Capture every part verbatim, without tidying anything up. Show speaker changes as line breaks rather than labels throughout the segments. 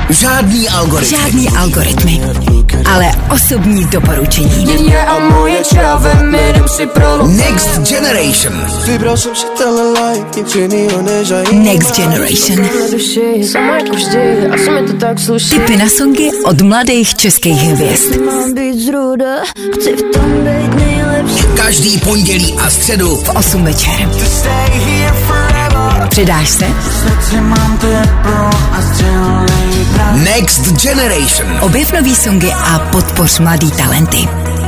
Žádný algoritmy.
Žádný algoritmy. Ale osobní doporučení.
Next Generation.
Next Generation. Tipy na songy od mladých českých hvězd.
Každý pondělí a středu
v osm večer. Přidáš se?
Next Generation.
Objev nový songy a podpoř mladý talenty.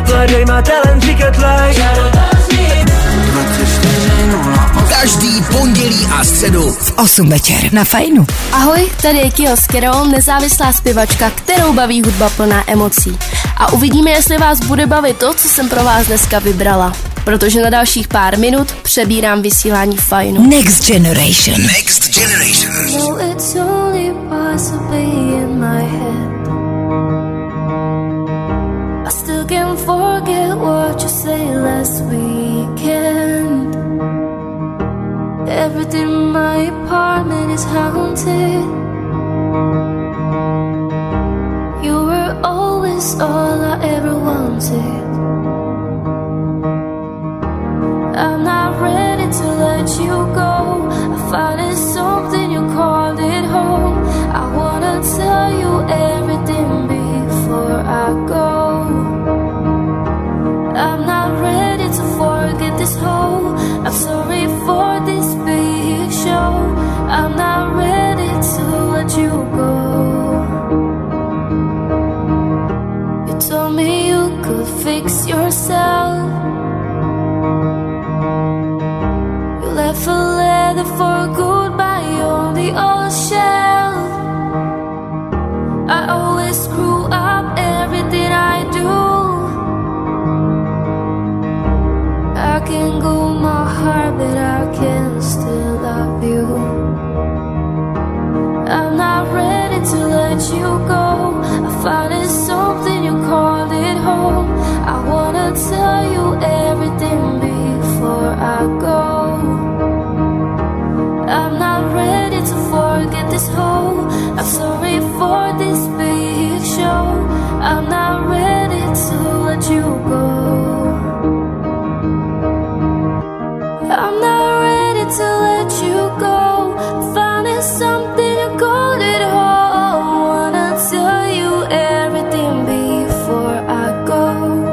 Každý pondělí a středu
v osm večer na Fajnu.
Ahoj, tady je Kio Skirol, nezávislá zpěvačka, kterou baví hudba plná emocí. A uvidíme, jestli vás bude bavit to, co jsem pro vás dneska vybrala. Protože na dalších pár minut přebírám vysílání Fajnu.
Next Generation.
Next Generation.
No, it's only possibly in my head. I still can't forget what you said last weekend. Everything in my apartment is haunted. You were always all I ever wanted. I'm not ready to let you go. I found it something, you called it home. I wanna tell you everything before I go. I'm not ready to forget this whole. I'm sorry for this big show. I'm not ready to let you go. You told me you could fix yourself. Left a letter for goodbye on the old shelf. I always screw up everything I do. I can go my heart, but I can still love you. I'm not ready to let you go. I found it something, you called it home. I wanna tell you everything before I go. I'm not ready to forget this whole. I'm sorry for this big show. I'm not ready to let you go. I'm not ready to let you go. Found it something, you called it home. Wanna tell you everything before I go.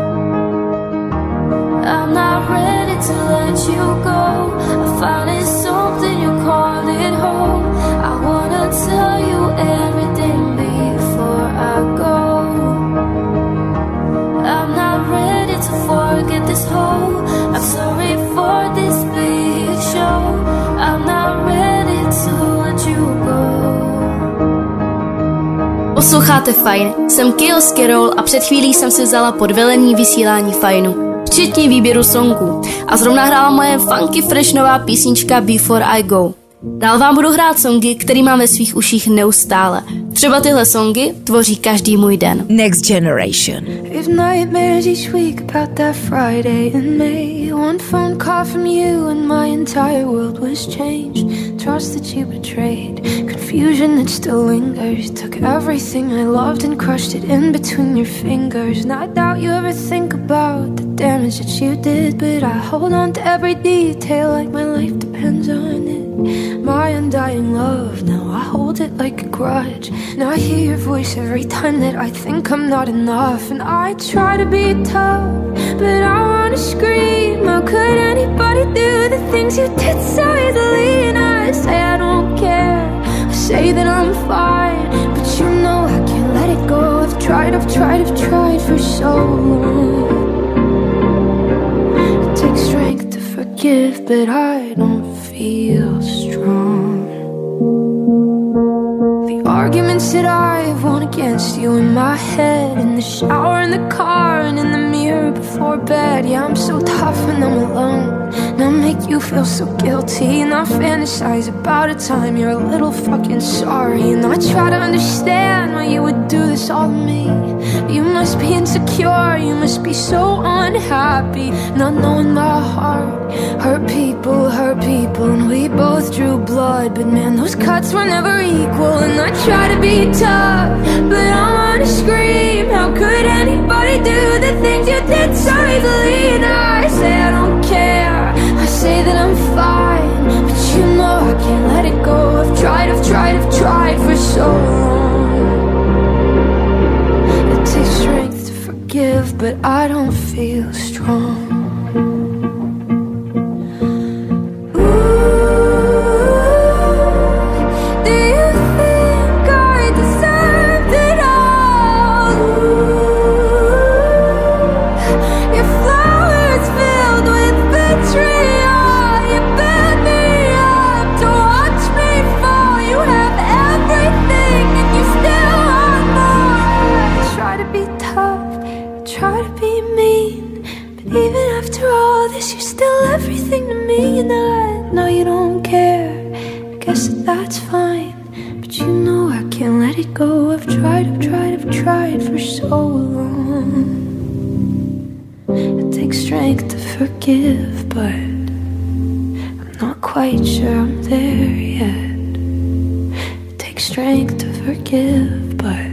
I'm not ready to let you go. I found it something, you called it home. I wanna tell you everything before I go. I'm not ready to forget this whole. I'm sorry for this big show. I'm not ready to let you go. Posloucháte Fajn, jsem Kio Skirol a před chvílí jsem si vzala pod velení vysílání Fajnu. Včetně výběru songů. A zrovna hrála moje funky fresh nová písnička Before I Go. Dál vám budu hrát songy, který mám ve svých uších neustále. Třeba tyhle songy tvoří každý můj den.
Next Generation.
If nightmares each week about that Friday in May. One phone call from you and my entire world was changed. Trust that you betrayed, confusion that still lingers. Took everything I loved and crushed it in between your fingers. And I doubt you ever think about the damage that you did, but I hold on to every detail like my life depends on it. My undying love, now I hold it like a grudge. Now I hear your voice every time that I think I'm not enough. And I try to be tough, but I wanna scream. How could anybody do the things you did so easily? And I say I don't care, I say that I'm fine, but you know I can't let it go. I've tried, I've tried, I've tried for so long. It takes strength to forgive, but I don't feel strong. The arguments that I've won against you in my head, in the shower, in the car, and in the mirror before bed. Yeah, I'm so tough when I'm alone, and I make you feel so guilty. And I fantasize about a time you're a little fucking sorry. And I try to understand why you would do this all to me. You must be insecure, you must be so unhappy, not knowing my heart. Hurt people, hurt people, and we both drew blood, but man, those cuts were never equal. And I try to be tough, tried, I've tried for so long. It takes strength to forgive, but I don't feel strong. That's fine, but you know I can't let it go. I've tried, I've tried, I've tried for so long. It takes strength to forgive, but I'm not quite sure I'm there yet. It takes strength to forgive, but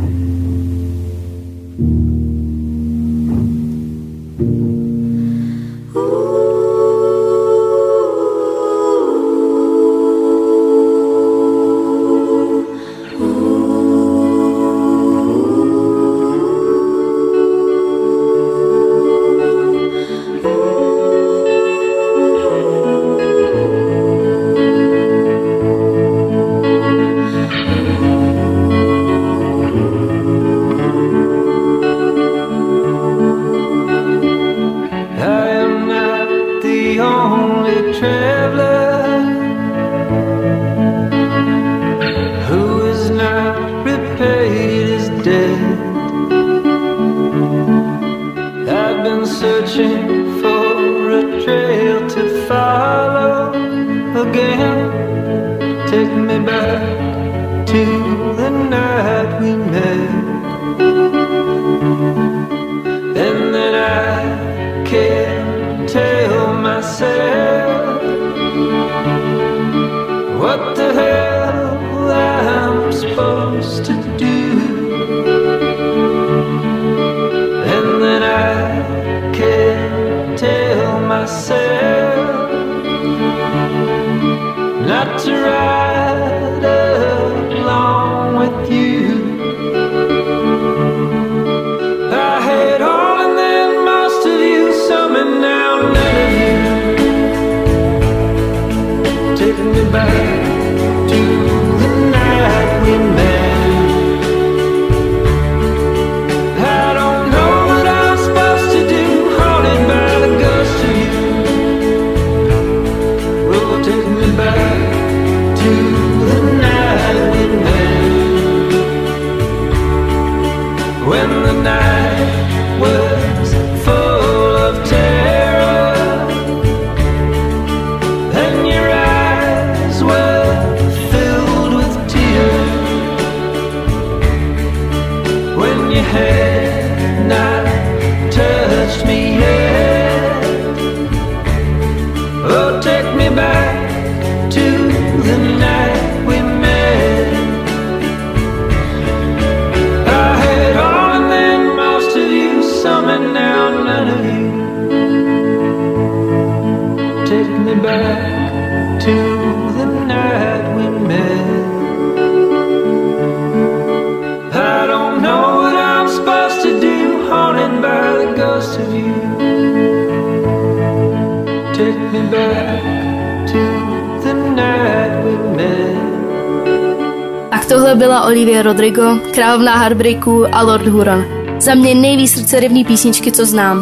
tohle byla Olivia Rodrigo, královna heartbreaků a Lord Huron. Za mě nejvíc srdcerivný písničky, co znám.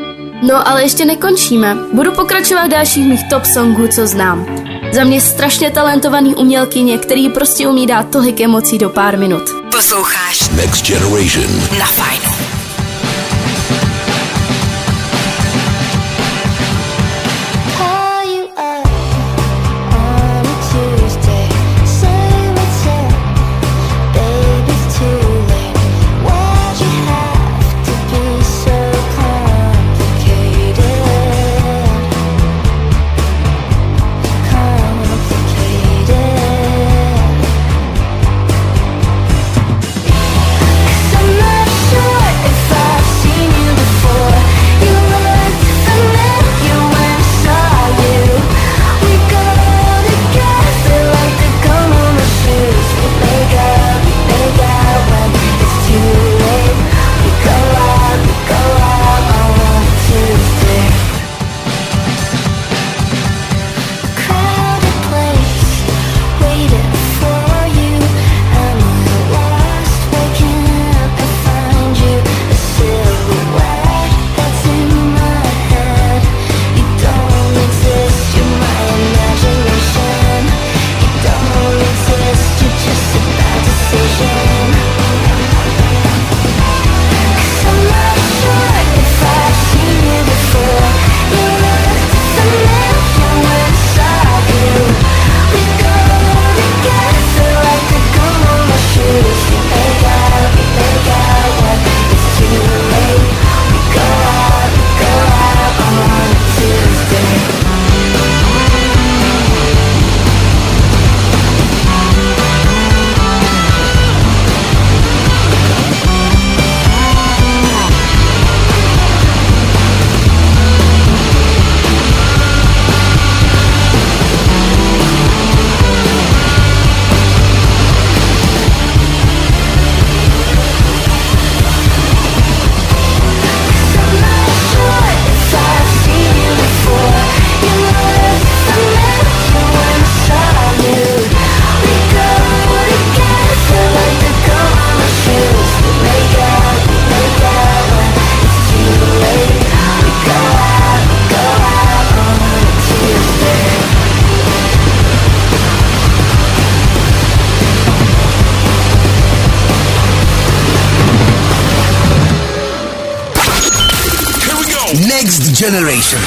No ale ještě nekončíme. Budu pokračovat v dalších mých top songů, co znám. Za mě strašně talentovaný umělkyně, který prostě umí dát tolik emocí do pár minut.
Posloucháš
Next Generation
na Fajnu.
I'm not sure
Generation.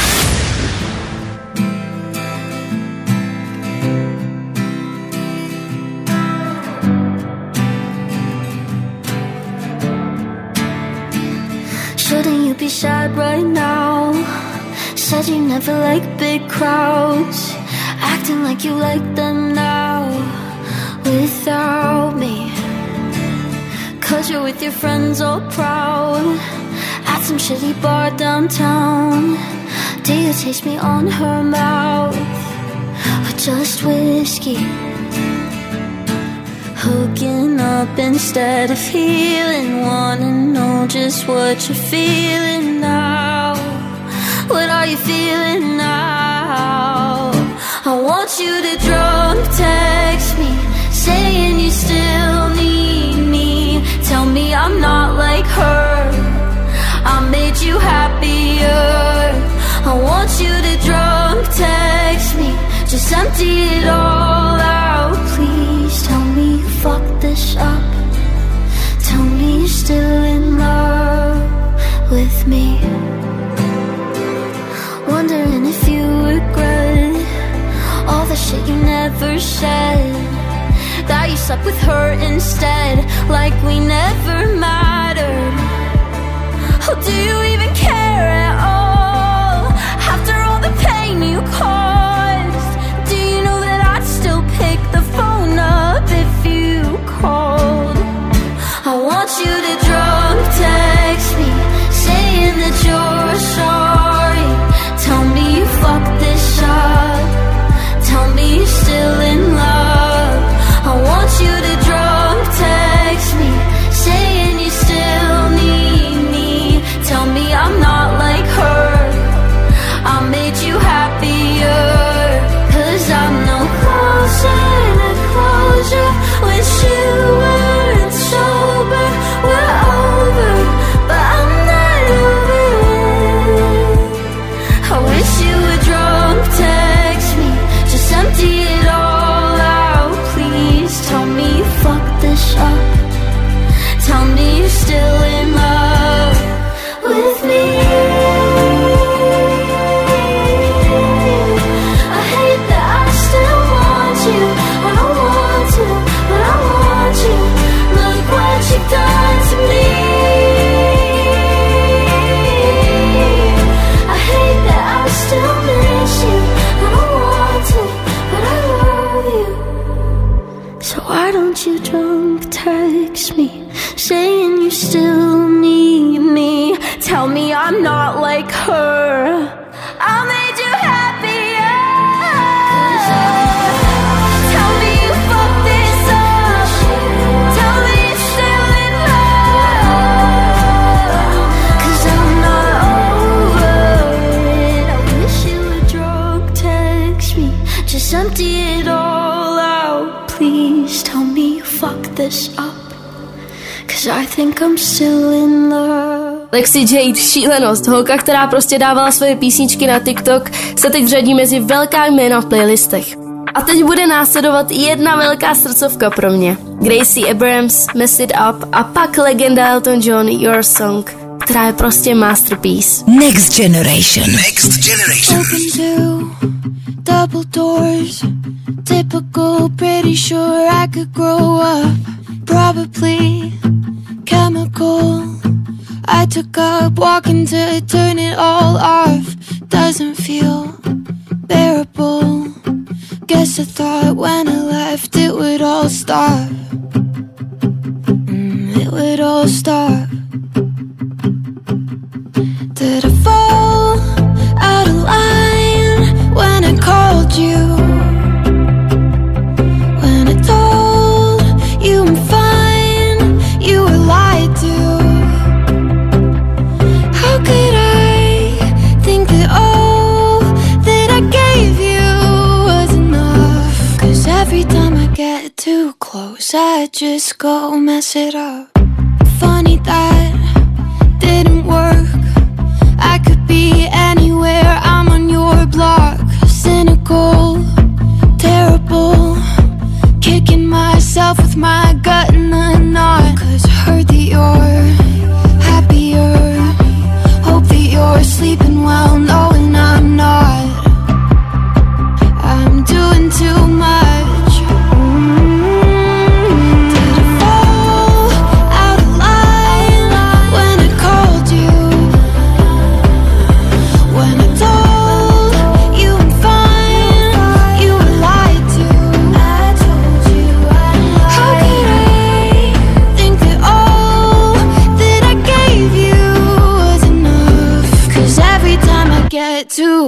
Shouldn't you be sad right now? Said you never like big crowds, acting like you like them now without me. Cause you're with your friends all proud at some shitty bar downtown. Do you taste me on her mouth or just whiskey? Hooking up instead of healing. Wanna know just what you're feeling now. What are you feeling now? I want you to drunk text me, saying you still need me. Tell me I'm not like her, I made you happier. I want you to drunk text me, just empty it all out. Please tell me you fucked this up. Tell me you're still in love with me. Wondering if you regret all the shit you never said, that you slept with her instead, like we never mattered. Oh, do you even care at all? After all the pain you caused, do you know that I'd still pick the phone up if you called? I want you to drunk text me, saying that you're sorry. Tell me you fucked this up. Tell me you're still in love. I want you to drunk text me, saying you still need me. Tell me I'm not like her, I made you happier. Cause I'm no closer to closure with you weren't sober. We're over, but I'm not over it. I wish you would drunk text me, just empty it all out. Please tell me you fucked this up. Tell me you're still in love with me. I hate that I still want you. I don't want to, but I want you. Look what you've done to me. I hate that I still miss you. I don't want to, but I love you. So why don't you drunk text me, saying you still need me. Tell me I'm not like her, I made you happier. Tell me you fucked this up. Tell me you're still in love. Cause I'm not over it. I wish you would drunk text me, just empty it all out. Please tell me you fucked this up. Cause I think I'm still in love.
Lexi Jade, šílenost, holka, která prostě dávala svoje písničky na TikTok, se teď řadí mezi velká jména v playlistech. A teď bude následovat jedna velká srdcovka pro mě. Gracie Abrams, Mess It Up a pak legenda Elton John, Your Song, která je prostě masterpiece.
Next Generation.
Next Generation.
Open to double doors, typical, pretty sure I could grow up. Probably chemical. I took up walking to turn it all off. Doesn't feel bearable. Guess I thought when I left it would all stop. Mm, it would all stop. Did I fall out of line when I called you? When I told you I'm fine, you were lied to. How could I think that all that I gave you was enough? Cause every time I get too close, I just go mess it up. Funny that didn't work. I could be anywhere, I'm on your block. Cynical, terrible, kicking myself with my gut in the knot. Cause I heard that you're happier, hope that you're sleeping well. No,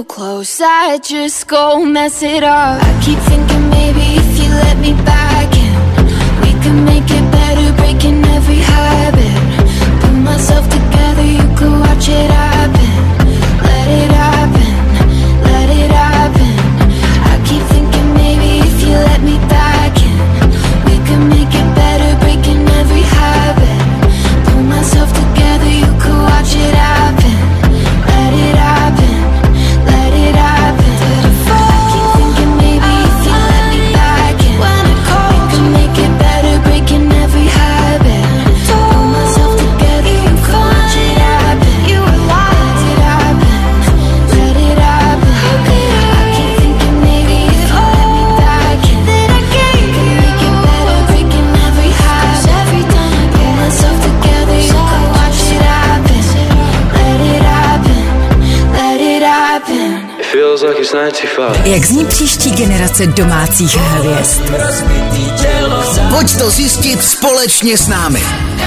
too close, I just go mess it up. I keep thinking maybe if you let me back in, we could make it better, breaking every habit. Put myself together, you could watch it happen. Let it happen, let it happen. I keep thinking maybe if you let me back in, we could make it better, breaking every habit. Put myself together, you could watch it happen. Let it happen, let it happen. I keep thinking maybe if you let me back in, we could make it better, breaking every habit. Put myself together, you could watch it happen. You were lying. Let it happen, let it happen. I keep thinking maybe if you let me back in, we could make it better, breaking every habit. Every time I put myself together, you could watch it happen. Let it happen, let it happen.
It feels like it's ninety-five.
Jak zní příští generace domácích hvězd?
Pojď to zjistit společně s námi.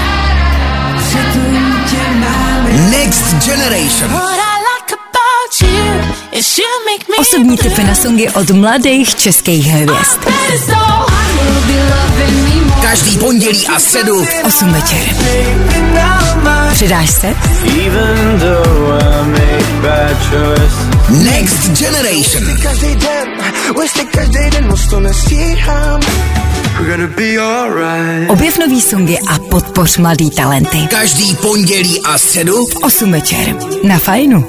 Next Generation.
Osobní tipy na songy od mladých českých hvězd.
Každý pondělí a středu
osm večer. Přidáš se?
Next Generation.
Objev nový songy a podpoř mladý talenty.
Každý pondělí a středu
v osm večer. Na Fajnu.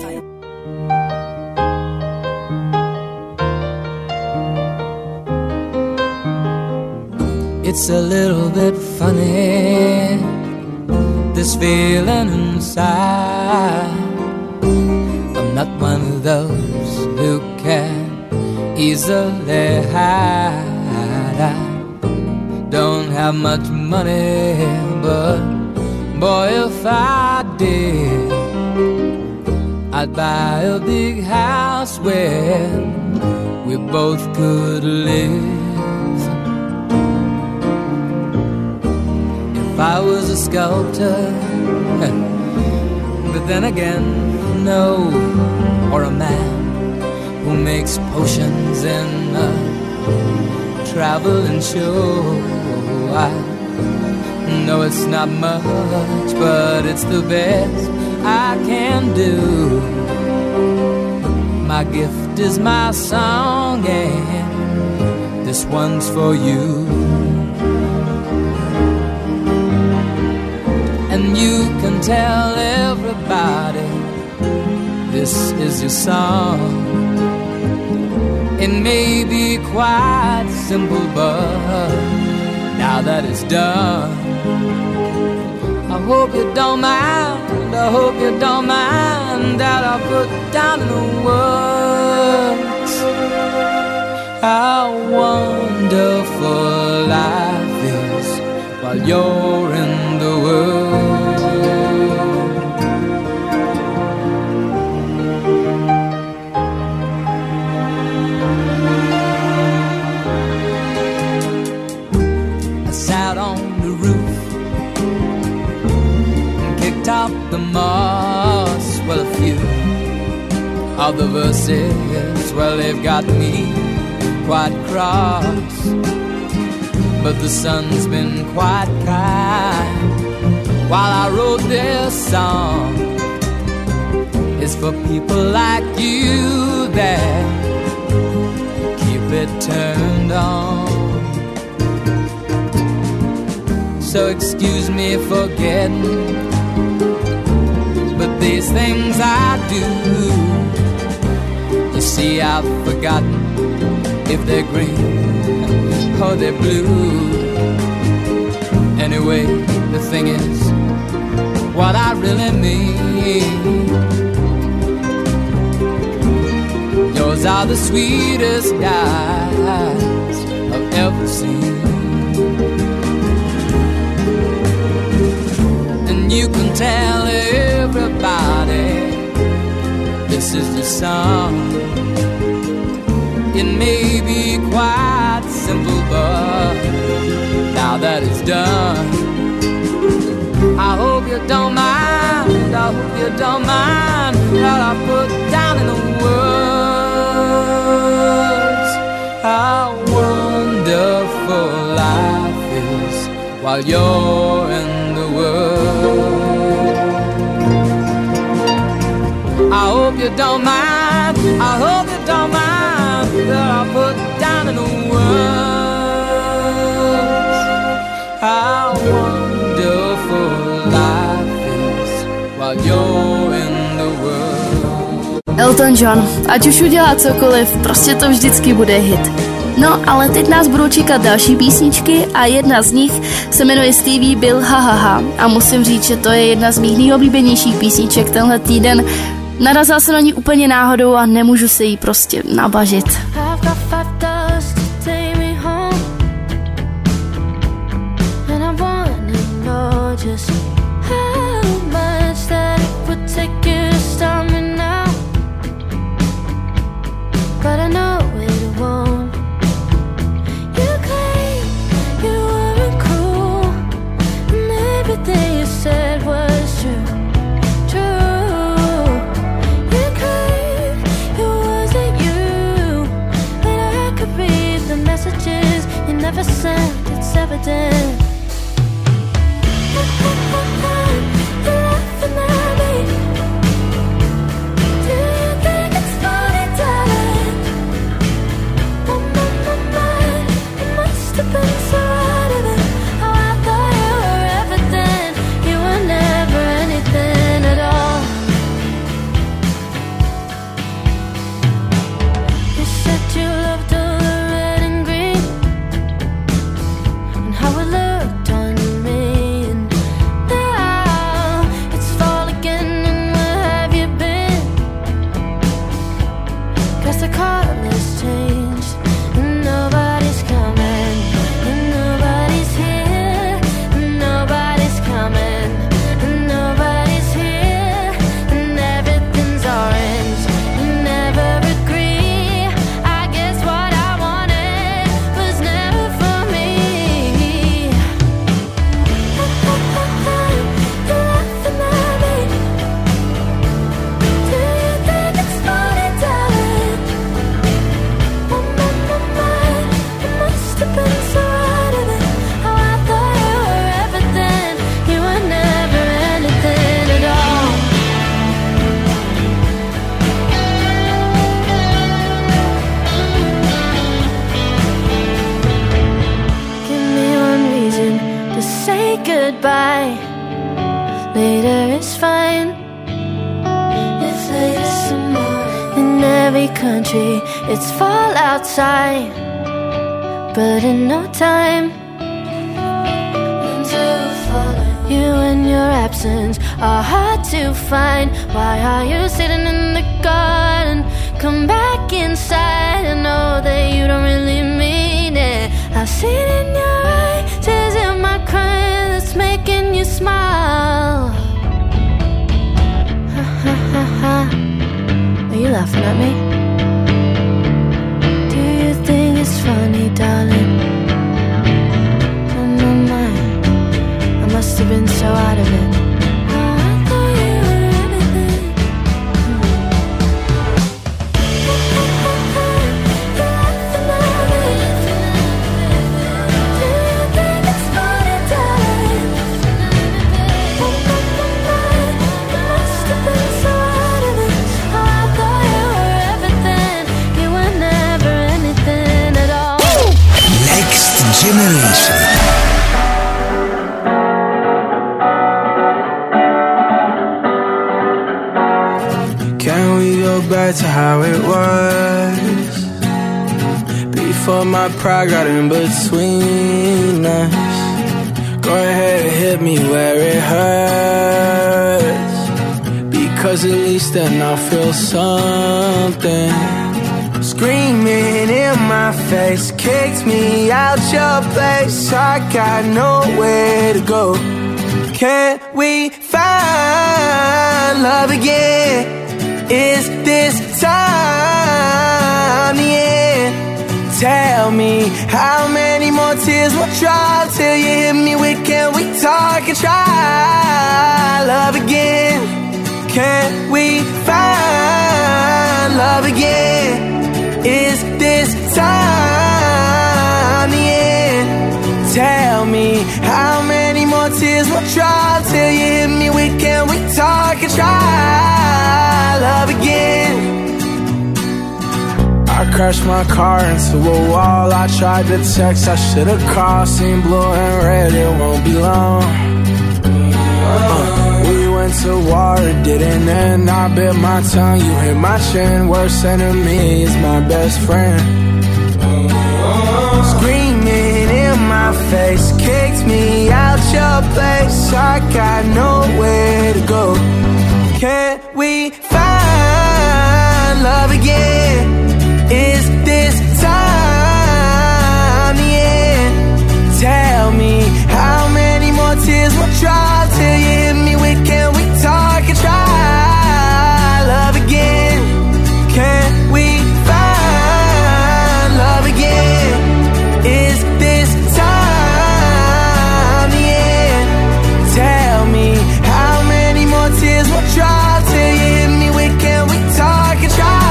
It's a little bit funny, this feeling inside. I'm not one of those who can easily hide. I don't have much money, but boy, if I did, I'd buy a big house where we both could live. If I was a sculptor, but then again, no, or a man who makes potions in a traveling show. I know it's not much, but it's the best I can do. My gift is my song, and this one's for you. And you can tell everybody this is your song. It may be quite simple, but now that it's done, I hope you don't mind, I hope you don't mind that I put down in the words how wonderful life is while you're in the world. I sat on the roof and kicked up the moss. Well, a few of the verses, well, they've got me quite cross. But the sun's been quite kind while I wrote this song. It's for people like you that keep it turned on. So excuse me for getting, but these things I do, you see, I've forgotten if they're green or they're blue. Anyway, the thing is, what I really mean, yours are the sweetest eyes I've ever seen. And you can tell everybody this is the song. It may be quite simple, but now that it's done, I hope you don't mind, I hope you don't mind that I put down in the words while you're in the world. I hope you don't mind, I hope you don't mind that I put down in the words how wonderful life is while you're in the world.
Elton John, ať už udělá cokoliv, prostě to vždycky bude hit. No, ale teď nás budou čekat další písničky a jedna z nich se jmenuje Stevie Bill Ha Ha Ha a musím říct, že to je jedna z mých nejoblíbenějších písniček tenhle týden. Narazila jsem na ní úplně náhodou a nemůžu se jí prostě nabažit.
It's evident. Goodbye. Later is fine. If later's some more. In every country, it's fall outside. But in no time, you and your absence are hard to find. Why are you sitting in the garden? Come back inside. I know that you don't really mean it. I see it in your eyes, tears in my crying that's making you smile. Ha ha ha ha. Are you laughing at me? Do you think it's funny, darling? Oh my mind, I must have been so out of it.
Generation.
Can we go back to how it was before my pride got in between us? Go ahead and hit me where it hurts, because at least then I'll feel something. Screaming in my face, kicked me out your place. I got nowhere to go. Can we find love again? Is this time the end? Tell me how many more tears will drop till you hit me with, can we talk and try love again? Can we find love again? Is this time the end? Tell me how tears, we'll try till you hit me with can we talk and try love again. I crashed my car into a wall. I tried to text, I should've called. Seen blue and red, it won't be long. uh, We went to war, it didn't end. I bit my tongue, you hit my chin. Worst enemy is my best friend. Screaming in my face, kicked me out your place. I got nowhere to go. Can't we find love again? Is this time the end? Tell me how many more tears will dry till you hit me with can we talk and try love again? Can we find love again? Is this time the end? Tell me how many more tears will dry till you hit me with can we talk and try.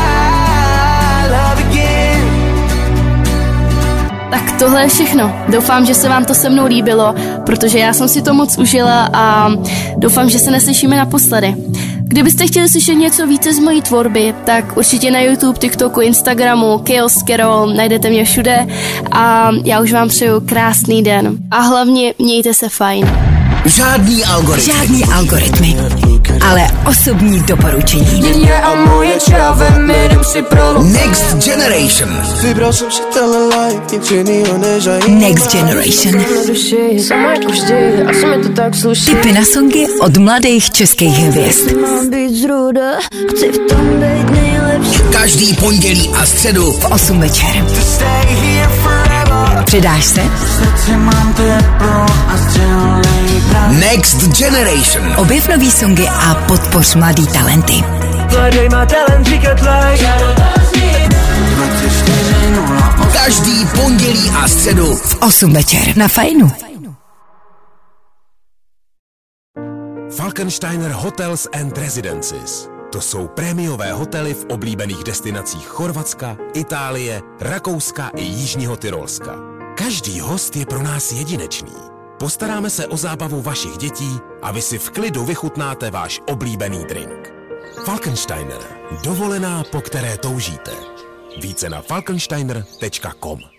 Tak tohle je všechno. Doufám, že se vám to se mnou líbilo, protože já jsem si to moc užila a doufám, že se neslyšíme naposledy. Kdybyste chtěli slyšet něco více z mojí tvorby, tak určitě na YouTube, TikToku, Instagramu, Chaos Carol, najdete mě všude a já už vám přeju krásný den. A hlavně mějte se fajn.
Žádný algoritmy.
Žádný algoritmy, ale osobní doporučení.
Next Generation.
Next Generation. Tipy na songy od mladých českých hvězd.
Každý pondělí a středu
v osm večer. Přidáš se?
Next Generation.
Objev nový songy a podpoř mladý talenty.
Každý pondělí a středu
v osm večer na Fajnu.
Falkensteiner Hotels and Residences. To jsou prémiové hotely v oblíbených destinacích Chorvatska, Itálie, Rakouska i Jižního Tyrolska. Každý host je pro nás jedinečný. Postaráme se o zábavu vašich dětí a vy si v klidu vychutnáte váš oblíbený drink. Falkensteiner. Dovolená, po které toužíte. Více na falkensteiner tečka com.